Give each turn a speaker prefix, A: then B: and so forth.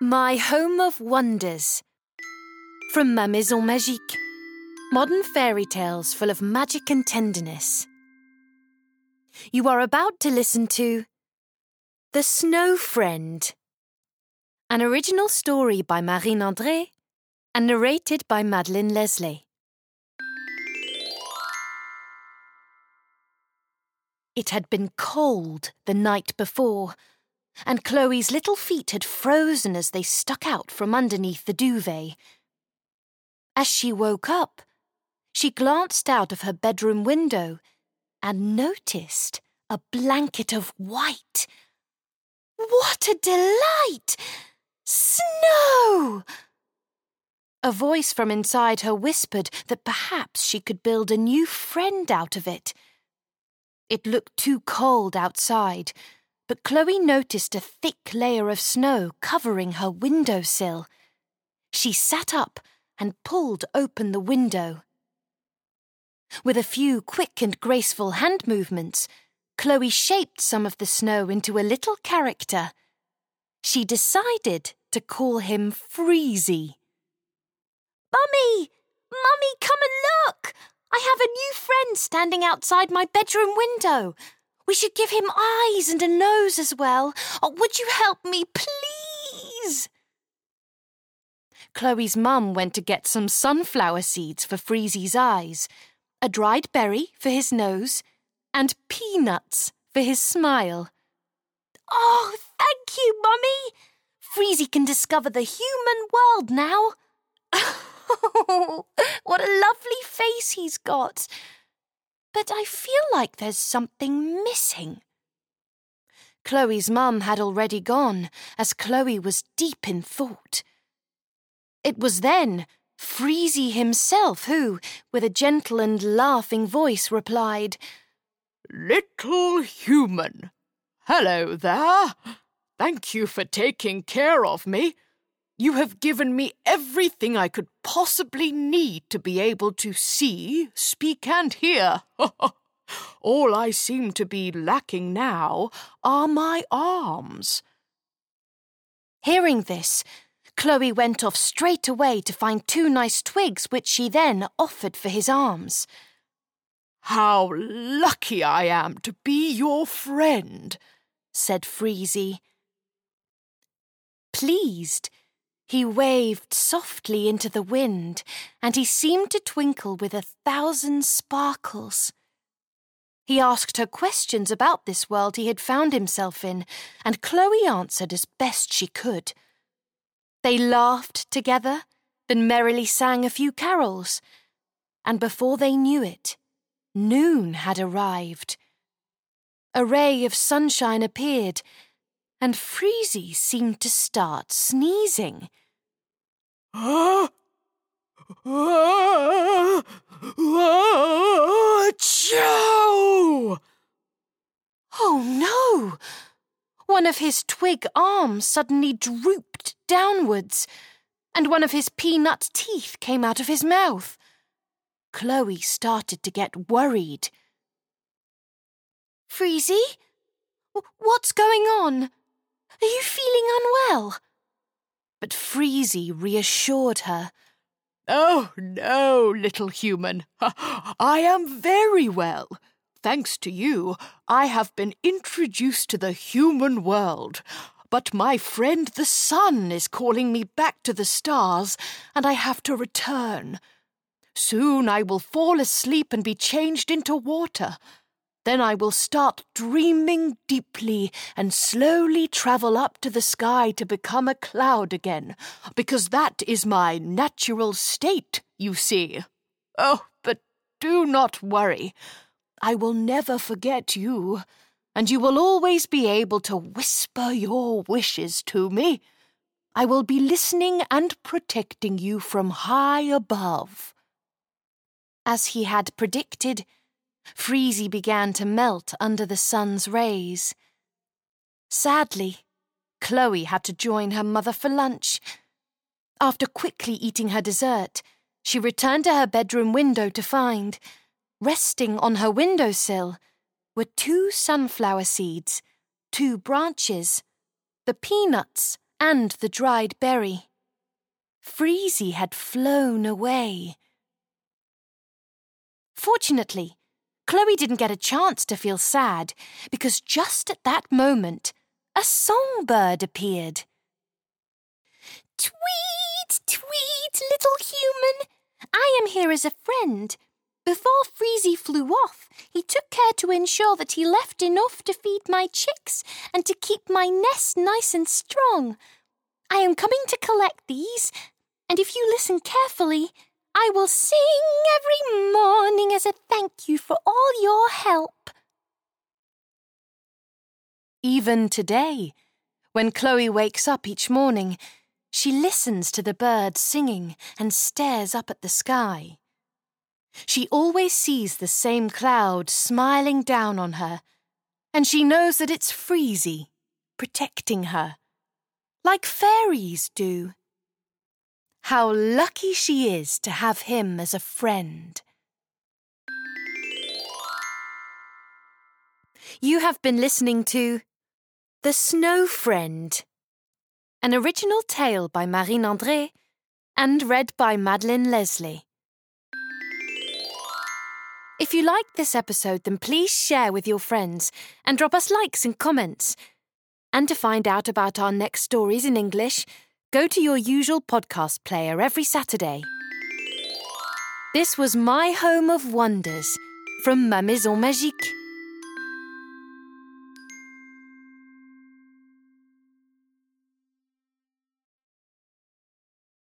A: My Home of Wonders from Ma Maison Magique. Modern fairy tales full of magic and tenderness. You are about to listen to The Snow Friend, an original story by Marine André and narrated by Madeleine Leslie. It had been cold the night before, and Chloe's little feet had frozen as they stuck out from underneath the duvet. As she woke up, she glanced out of her bedroom window and noticed a blanket of white. What a delight! Snow! A voice from inside her whispered that perhaps she could build a new friend out of it. It looked too cold outside, but Chloe noticed a thick layer of snow covering her windowsill. She sat up and pulled open the window. With a few quick and graceful hand movements, Chloe shaped some of the snow into a little character. She decided to call him Freezy. Mummy! Mummy, come and look! I have a new friend standing outside my bedroom window. We should give him eyes and a nose as well. Oh, would you help me, please? Chloe's mum went to get some sunflower seeds for Freezy's eyes, a dried berry for his nose, and peanuts for his smile. Oh, thank you, Mummy! Freezy can discover the human world now. Oh, what a lovely face he's got. But I feel like there's something missing. Chloe's mum had already gone, as Chloe was deep in thought. It was then Freezy himself who, with a gentle and laughing voice, replied,
B: "Little human, hello there. Thank you for taking care of me. You have given me everything I could possibly need to be able to see, speak, and hear. All I seem to be lacking now are my arms."
A: Hearing this, Chloe went off straight away to find 2 nice twigs which she then offered for his arms.
B: "How lucky I am to be your friend," said Freezy.
A: Pleased, he waved softly into the wind, and he seemed to twinkle with 1,000 sparkles. He asked her questions about this world he had found himself in, and Chloe answered as best she could. They laughed together, then merrily sang a few carols, and before they knew it, noon had arrived. A ray of sunshine appeared, and Freezy seemed to start sneezing.
B: Achoo!
A: Oh no! One of his twig arms suddenly drooped downwards, and one of his peanut teeth came out of his mouth. Chloe started to get worried. Freezy? What's going on? Are you feeling unwell? But Freezy reassured her.
B: "Oh, no, little human. I am very well. Thanks to you, I have been introduced to the human world. But my friend the sun is calling me back to the stars, and I have to return. Soon I will fall asleep and be changed into water. Then I will start dreaming deeply and slowly travel up to the sky to become a cloud again, because that is my natural state, you see. Oh, but do not worry. I will never forget you, and you will always be able to whisper your wishes to me. I will be listening and protecting you from high above." As he had predicted, Freezy began to melt under the sun's rays. Sadly, Chloe had to join her mother for lunch. After quickly eating her dessert, she returned to her bedroom window to find, resting on her windowsill, were 2 sunflower seeds, 2 branches, the peanuts
A: and the dried berry. Freezy had flown away. Fortunately, Chloe didn't get a chance to feel sad because just at that moment, a songbird appeared. Tweet, tweet, little human. I am here as a friend. Before Freezy flew off, he took care to ensure that he left enough to feed my chicks and to keep my nest nice and strong. I am coming to collect these, and if you listen carefully, I will sing every morning as a thank you for all your help. Even today, when Chloe wakes up each morning, she listens to the birds singing and stares up at the sky. She always sees the same cloud smiling down on her, and she knows that it's Freezy, protecting her, like fairies do. How lucky she is to have him as a friend. You have been listening to The Snow Friend, an original tale by Marine André and read by Madeline Leslie. If you liked this episode, then please share with your friends and drop us likes and comments. And to find out about our next stories in English, go to your usual podcast player every Saturday. This was My Home of Wonders from Ma Maison Magique.